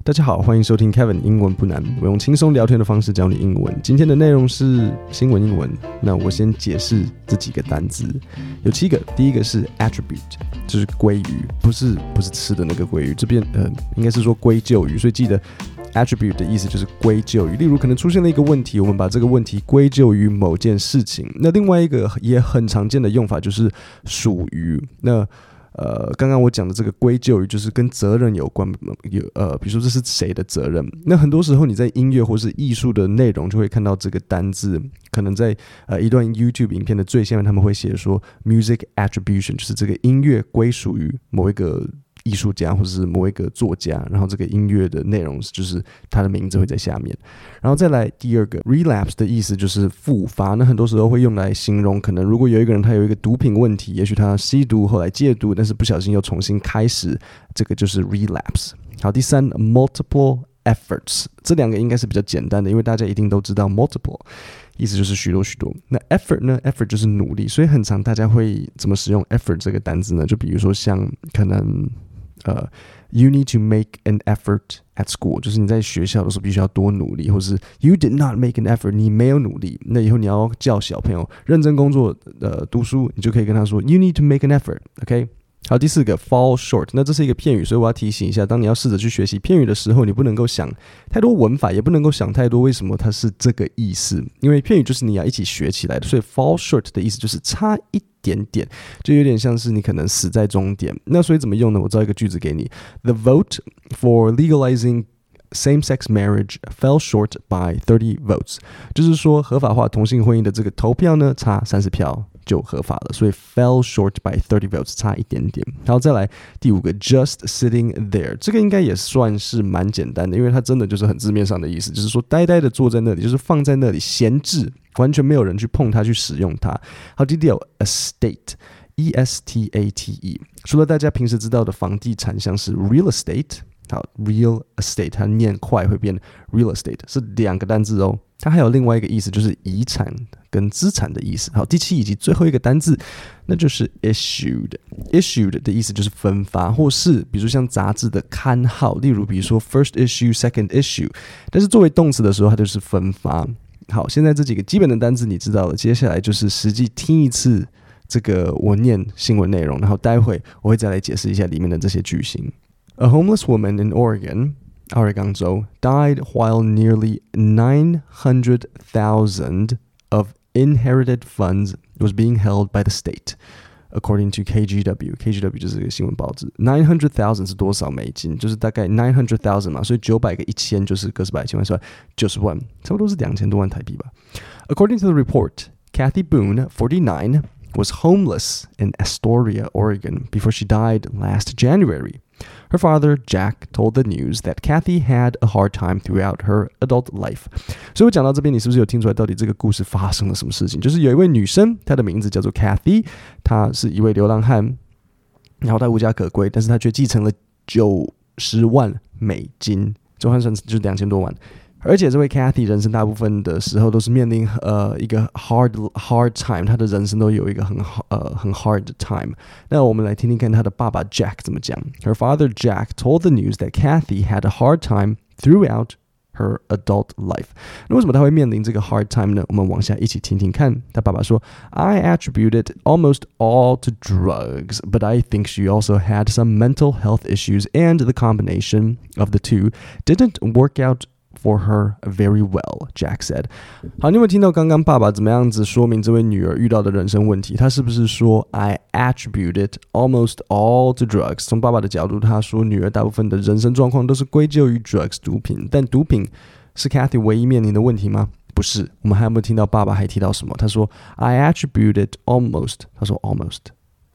大家好，歡迎收聽 Kevin 英文不難，我用輕鬆聊天的方式教你英文。今天的內容是新聞英文，那我先解釋這幾個單字，有7個。第一個是 attribute， 就是歸於，不是吃的那個鮭魚，這邊應該是說歸咎於，所以記得 attribute 的意思就是歸咎於。例如可能出現了一個問題，我們把這個問題歸咎於某件事情。那另外一個也很常見的用法就是屬於。那剛剛我講的這個歸咎於就是跟責任有關，比如說這是誰的責任？那很多時候你在音樂或是藝術的內容就會看到這個單字，可能在一段 YouTube 影片的最下面他們會寫說 music attribution， 就是這個音樂歸屬於某一個藝術家或者是某一個作家，然後這個音樂的內容就是他的名字會在下面。然後再來第二個 relapse 的意思就是復發，那很多時候會用來形容可能如果有一個人他有一個毒品問題，也許他吸毒後來戒毒，但是不小心又重新開始，這個就是 relapse。好，第三 multiple efforts， 這兩個應該是比較簡單的，因為大家一定都知道 multiple意思就是許多許多。那 effort 呢 effort 就是努力，所以很常大家會怎麼使用 effort 這個單字呢？就比如說像可能you need to make an effort at school， 就是你在學校的時候必須要多努力，或是 you did not make an effort， 你沒有努力。那以後你要叫小朋友認真工作讀書，你就可以跟他說 you need to make an effort，OK？好，第四個 fall short， 那這是一個片語，所以我要提醒一下，當你要試着去學習片語的時候，你不能夠想太多文法，也不能夠想太多為什麼它是這個意思，因為片語就是你要一起學起來的，所以 fall short 的意思就是差一點點，就有點像是你可能死在終點。那所以怎麼用呢？我造一個句子給你 ：The vote for legalizing same-sex marriage fell short by 30 votes， 就是說合法化同性婚姻的這個投票呢，差30票就合法了，所以 fell short by 30 votes 差一點點。然後再來第5個 just sitting there， 這個應該也算是蠻簡單的，因為它真的就是很字面上的意思，就是說呆呆的坐在那裡，就是放在那裡閒置，完全沒有人去碰它去使用它。好，第6 estate E-S-T-A-T-E， 除了大家平時知道的房地產像是 real estate， 好 real estate 它念快會變 real estate， 是2個單字哦。它還有另外一個意思，就是遺產跟資產的意思。好，第7以及最後一個單字，那就是 issued。issued 的意思就是分發，或是比如像雜誌的刊號，例如比如說 first issue、second issue， 但是作為動詞的時候，它就是分發。好，現在這幾個基本的單字你知道了，接下來就是實際聽一次這個我念新聞內容，然後待會我會再來解釋一下裡面的這些句型。A homeless woman in Oregon， 奧勒岡州 died while nearly 900,000 of inherited funds was being held by the state, according to KGW. KGW 就是這個新聞報紙。900,000 是多少美金？就是大概900,000嘛，所以900個1000就是個十百千萬是90萬，差不多是2000多萬台幣吧。According to the report, Kathy Boone, 49, was homeless in Astoria, Oregon, before she died last January.Her father, Jack, told the news that Kathy had a hard time throughout her adult life. 所以我講到這邊，你是不是有聽出來到底這個故事發生了什麼事情？就是有一位女生，她的名字叫做 Kathy， 她是一位流浪漢，然後她無家可歸，但是她卻繼承了90萬美金，就換算就是2000多萬。而且這位 Kathy 人生大部分的時候都是面臨一個 hard time， 她的人生都有一個很 hard time。那我們來聽聽看她的爸爸 Jack 怎麼講。Her father Jack told the news that Kathy had a hard time throughout her adult life。那為什麼她會面臨這個 hard time 呢？我們往下一起聽聽看。她爸爸說 I attribute it almost all to drugs, but I think she also had some mental health issues, and the combination of the two didn't work out.For her very well, Jack said. 好，你有沒有聽到剛剛爸爸怎麼樣子說明這位女兒遇到的人生問題？他是不是說 I attribute it almost all to drugs？ 從爸爸的角度，他說女兒大部分的人生狀況都是歸咎於 drugs 毒品，但毒品是 Kathy 唯一面臨的問題嗎？不是。我們還有沒有聽到爸爸還提到什麼？他說 I attribute it almost， 他說 almost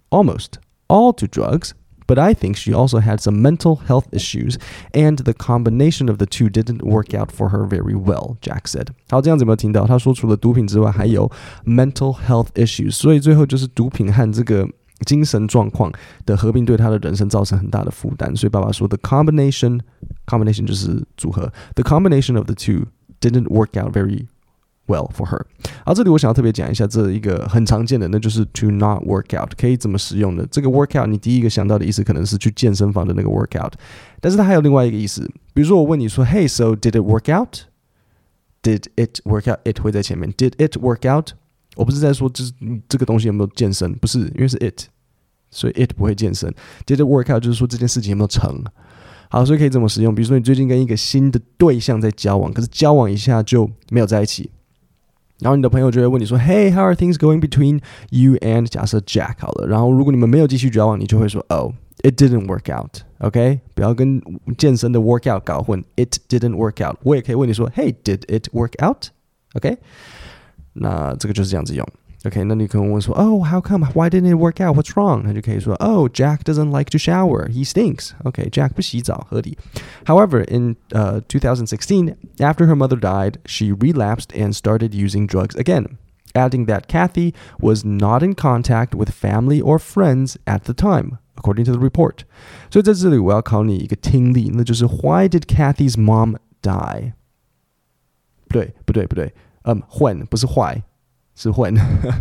all to drugs.But I think she also had some mental health issues, and the combination of the two didn't work out for her very well, Jack said. 好，這樣子有沒有聽到？他說除了毒品之外，還有 mental health issues， 所以最後就是毒品和這個精神狀況的合併對他的人生造成很大的負擔。所以爸爸說 the combination 就是組合 ，the combination of the two didn't work out very well for her。好，這裡我想要特別講一下這一個很常見的，那就是 to not work out， 可以怎麼使用呢？這個 work out 你第一個想到的意思可能是去健身房的那個 work out， 但是它還有另外一個意思，比如說我問你說 Hey, so did it work out? Did it work out? It 會在前面 Did it work out? 我不是在說這個東西有沒有健身，不是，因為是 it， 所以 it 不會健身。Did it work out 就是說這件事情有沒有成。好，所以可以怎麼使用？比如說你最近跟一個新的對象在交往，可是交往一下就沒有在一起，然後你的朋友就會問你說 Hey, how are things going between you and 假設 Jack 好了，然後如果你們沒有繼續交往，你就會說 Oh, it didn't work out, OK? 不要跟健身的 work out 搞混， It didn't work out。 我也可以問你說 Hey, did it work out? OK? 那這個就是這樣子用。OK, 那你可能問說 Oh, how come? Why didn't it work out? What's wrong? 那就可以說 Oh, Jack doesn't like to shower. He stinks. OK, Jack 不洗澡，合理。However, in 2016, after her mother died, she relapsed and started using drugs again, adding that Kathy was not in contact with family or friends at the time, according to the report. 所以在這裡我要考你一個聽力，那就是 Why did Kathy's mom die? 不對。when 不是 why。是 when.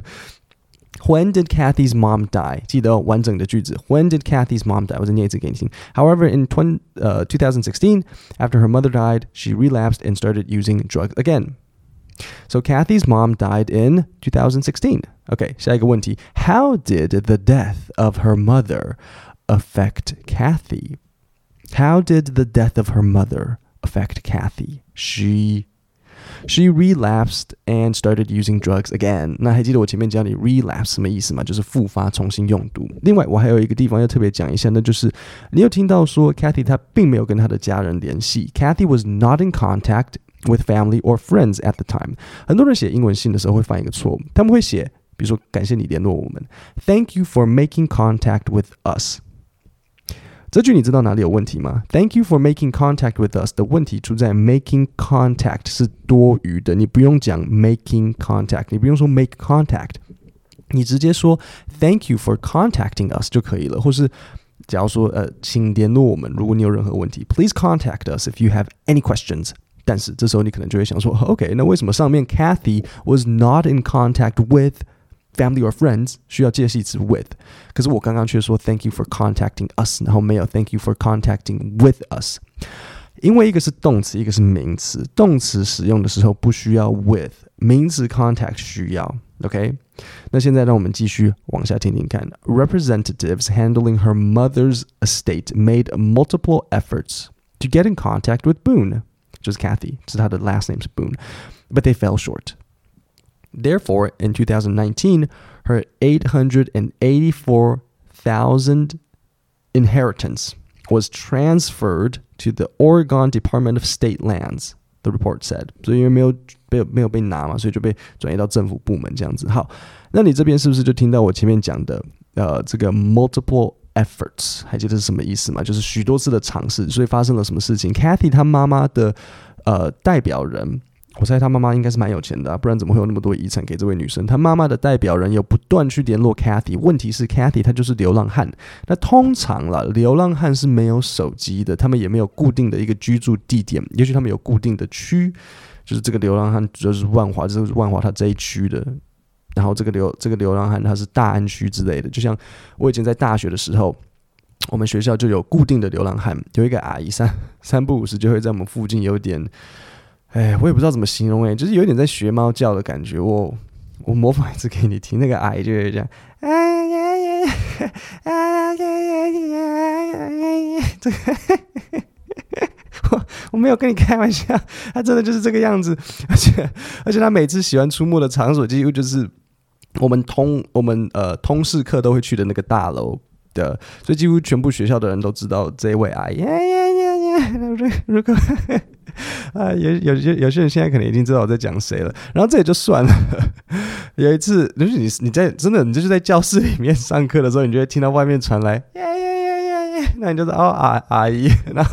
When did Kathy's mom die? 記得完整的句子。When did Kathy's mom die? 我再念一次給你聽。However, in 2016, after her mother died, she relapsed and started using drugs again. So Kathy's mom died in 2016. Okay, 下一個問題。How did the death of her mother affect Kathy? How did the death of her mother affect Kathy? She relapsed and started using drugs again. 那還記得我前面教你 relapse 什麼意思嗎？就是復發，重新用毒。另外，我還有一個地方要特別講一下，那就是你有聽到說 Kathy 她並沒有跟她的家人聯繫。Kathy was not in contact with family or friends at the time. 很多人寫英文信的時候會犯一個錯誤，他們會寫，比如說感謝你聯絡我們 ，Thank you for making contact with us。這句你知道哪裡有問題嗎？ Thank you for making contact with us 的問題出在 making contact 是多餘的，你不用講 making contact， 你不用說 make contact， 你直接說 Thank you for contacting us 就可以了，或是假如說請聯絡我們，如果你有任何問題 Please contact us if you have any questions。但是這時候你可能就會想說 OK， 那為什麼上面 Kathy was not in contact with family or friends 需要介系詞 with， 可是我剛剛卻說 Thank you for contacting us， 然後沒有 Thank you for contacting with us， 因為一個是動詞，一個是名詞，動詞使用的時候不需要 with， 名詞 contact 需要 OK。 那現在讓我們繼續往下聽聽看。 Representatives handling her mother's estate made multiple efforts to get in contact with Boone， 就是 Kathy， 是她的 last name 是 Boone， but they fell short。Therefore, in 2019, her $884,000 inheritance was transferred to the Oregon Department of State Lands, the report said. 所以因為沒有被拿嘛，所以就被轉移到政府部門這樣子。好，那你這邊是不是就聽到我前面講的這個 multiple efforts？ 還記得是什麼意思嗎？就是許多次的嘗試，所以發生了什麼事情 ？Kathy 她媽媽的代表人。我猜他媽媽應該是蠻有錢的啊，不然怎麼會有那麼多遺產給這位女生？她媽媽的代表人有不斷去聯絡 Kathy， 問題是 Kathy 她就是流浪漢。那通常啦，流浪漢是沒有手機的，他們也沒有固定的一個居住地點，也許他們有固定的區，就是這個流浪漢就是萬華，就是萬華他這一區的。然後這個流浪漢他是大安區之類的，就像我以前在大學的時候。我們學校就有固定的流浪漢，有一個阿姨三不五時就會在我們附近有點。我也不知道怎麼形容就是有點在學貓叫的感覺。我模仿一次給你聽，那個阿姨就會這樣，這個我沒有跟你開玩笑，他真的就是這個樣子，而且他每次喜歡出沒的場所幾乎就是我們通識課都會去的那個大樓的，所以幾乎全部學校的人都知道這一位阿姨。如果有些人現在可能已經知道我在講誰了，然後這也就算了。有一次，就是你在真的，你就是在教室裡面上課的時候，你就會聽到外面傳來那你就說阿姨，然後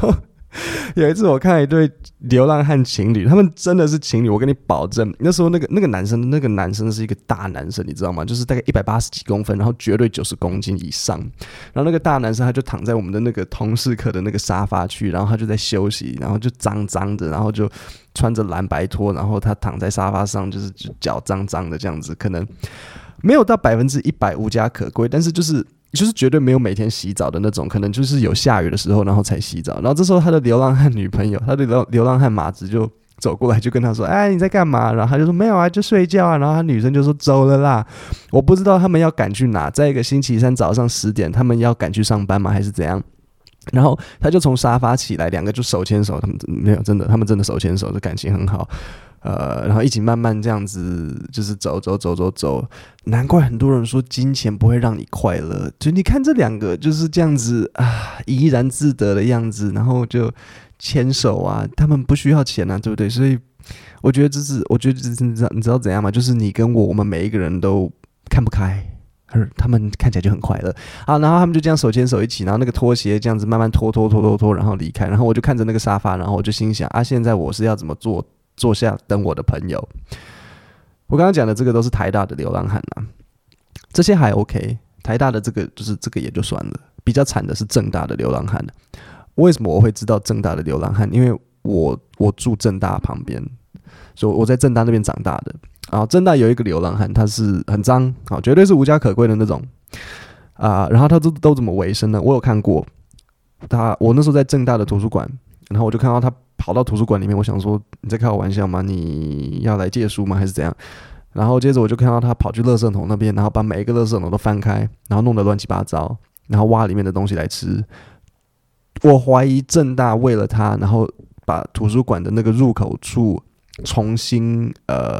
有一次我看了一對流浪漢情侶，他們真的是情侶，我跟你保證。那時候那個男生是一個大男生，你知道嗎？就是大概180幾公分，然後絕對90公斤以上。然後那個大男生他就躺在我們的那個同事課的那個沙發區，然後他就在休息，然後就髒髒的，然後就穿着藍白拖，然後他躺在沙發上，就是腳髒髒的這樣子，可能沒有到100%無家可歸，但是就是絕對沒有每天洗澡的那種，可能就是有下雨的时候然後才洗澡。然後這時候他的流浪漢女朋友，他的流浪漢馬子就走過來就跟他說，哎，你在幹嘛？然後他就說沒有啊，就睡覺啊。然後他女生就說走了啦，我不知道他們要趕去哪，在一個星期三早上10點他們要趕去上班嗎還是怎樣。然後他就從沙發起来，兩個就手牽手，他們沒有真的，他們真的手牽手，这感情很好。然後一起慢慢這樣子，就是走，難怪很多人說金錢不會讓你快樂。就你看這兩個就是這樣子啊，怡然自得的樣子，然後就牽手啊，他們不需要錢啊，對不對？所以我覺得這是你知道怎樣嗎？就是你跟我們每一個人都看不開，而他們看起來就很快樂啊。然後他們就這樣手牽手一起，然後那個拖鞋這樣子慢慢拖，然後離開。然後我就看着那個沙發，然後我就心想啊，現在我是要怎麼坐下等我的朋友。我剛剛講的這個都是台大的流浪漢啊，這些還 OK。台大的這個也就算了，比較慘的是政大的流浪漢。為什麼我會知道政大的流浪漢？因為我住政大旁邊，所以我在政大那邊長大的。然後政大有一個流浪漢，他是很髒啊，絕對是無家可歸的那種啊。然後他都怎麼維生呢？我有看過我那時候在政大的圖書館，然後我就看到他跑到圖書館裡面，我想說你在開我玩笑嗎？你要來借書嗎？還是怎樣？然後接着我就看到他跑去垃圾桶那邊，然後把每一個垃圾桶都翻開，然後弄得亂七八糟，然後挖裡面的東西來吃。我懷疑政大為了他，然後把圖書館的那個入口處重新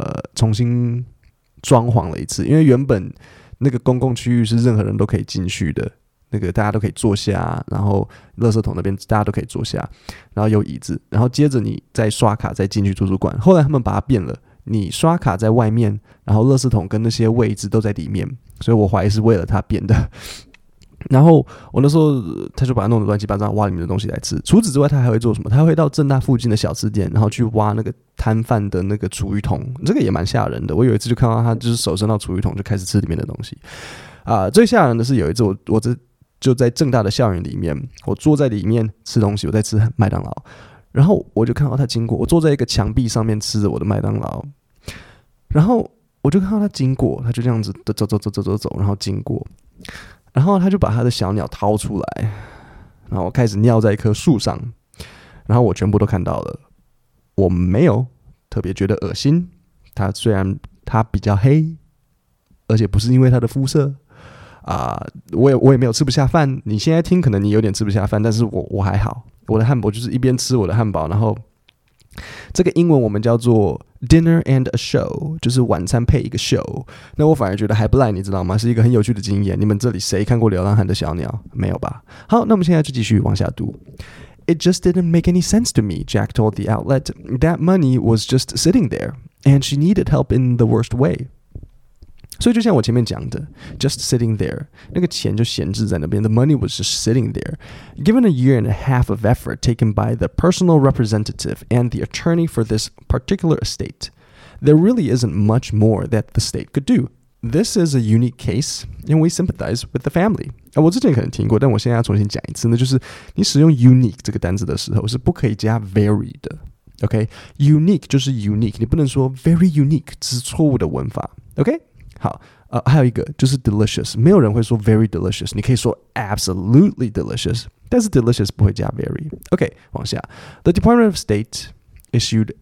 裝潢了一次，因為原本那個公共區域是任何人都可以進去的。那個大家都可以坐下，然後垃圾桶那邊大家都可以坐下，然後有椅子，然後接着你再刷卡再進去圖書館。後來他們把它變了，你刷卡在外面，然後垃圾桶跟那些位置都在裡面，所以我懷疑是為了它變的。然後我那時候他就把它弄得亂七八糟，挖裡面的東西來吃。除此之外，他還會做什麼？他會到政大附近的小吃店，然後去挖那個攤販的那個廚餘桶，這個也蠻嚇人的。我有一次就看到他就是手伸到廚餘桶就開始吃裡面的東西。最嚇人的是有一次我就在政大的校園裡面，我坐在裡面吃東西，我在吃麥當勞，然後我就看到他經過，我坐在一個牆壁上面吃着我的麥當勞，然後我就看到他經過，他就這樣子走，然後經過，然後他就把他的小鳥掏出來，然後開始尿在一棵樹上，然後我全部都看到了，我沒有特別覺得噁心，他雖然他比較黑，而且不是因為他的膚色。我也沒有吃不下飯。你現在聽可能你有點吃不下飯，但是我還好。我的漢堡就是一邊吃我的漢堡，然後這個英文我們叫做 dinner and a show， 就是晚餐配一個 show。那我反而覺得還不賴，你知道嗎？是一個很有趣的經驗。你們這裡誰看過流浪漢的小鳥？沒有吧？好，那我們現在就繼續往下讀。It just didn't make any sense to me, Jack told the outlet. That money was just sitting there, and she needed help in the worst way.所以就像我前面講的 just sitting there 那個錢就閒置在那邊 the money was just sitting there given a year and a half of effort taken by the personal representative and the attorney for this particular estate there really isn't much more that the state could do this is a unique case and we sympathize with the family 我之前可能聽過但我現在要重新講一次呢就是你使用 unique 這個單字的時候是不可以加 very 的 OK unique 就是 unique 你不能說 very unique 這是錯誤的文法 OK好，還有一個就是 delicious， 沒有人會說 very delicious， 你可以說 absolutely delicious， 但是 delicious 不會加 very。OK， 往下 ，The Department of State issued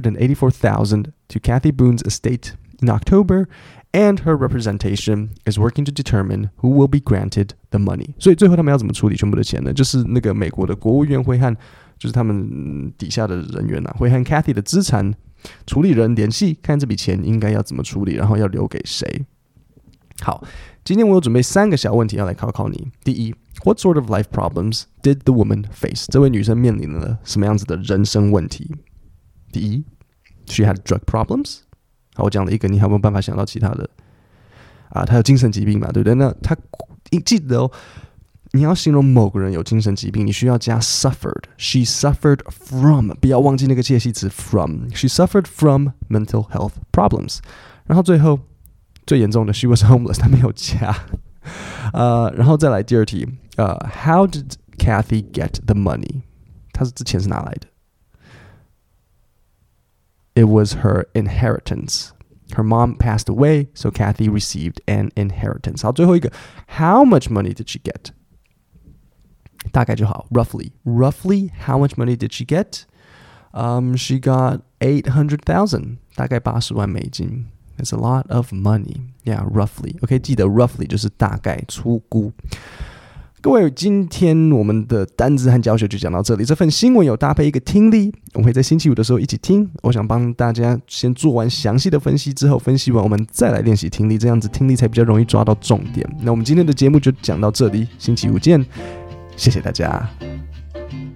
$884,000 to Kathy Boone's estate in October, and her representation is working to determine who will be granted the money。所以最後他們要怎麼處理全部的錢呢？就是那個美國的國務院會和就是他們底下的人員會和 Kathy 的資產處理人聯繫，看這筆錢應該要怎麼處理，然後要留給誰。好，今天我有準備3個小問題要來考考你。第一 ，What sort of life problems did the woman face？ 這位女生面臨了什麼樣子的人生問題？第一 ，She had drug problems。好，我講了一個，你還有沒有辦法想到其他的？她有精神疾病嘛，對不對？那她記得哦， 你要形容某個人有精神疾病，你需要加 suffered. She suffered from. 不要忘记那個介系詞 from. She suffered from mental health problems. 然後最後最嚴重的 she was homeless. 他沒有加。然後再來第二題。How did Kathy get the money? 他之前是哪來的？ It was her inheritance. Her mom passed away, so Kathy received an inheritance. 好，最後一個 How much money did she get? 大概就好 Roughly, how much money did she get? She got 800,000. 大概80萬美金 That's a lot of money. Yeah, roughly. OK, 記得 roughly 就是大概粗估。各位，今天我們的單字和教學就講到這裡。這份新聞有搭配一個聽力，我們會在星期五的時候一起聽。我想幫大家先做完詳細的分析之後，分析完我們再來練習聽力，這樣子聽力才比較容易抓到重點。那我們今天的節目就講到這裡，星期五見，謝謝大家。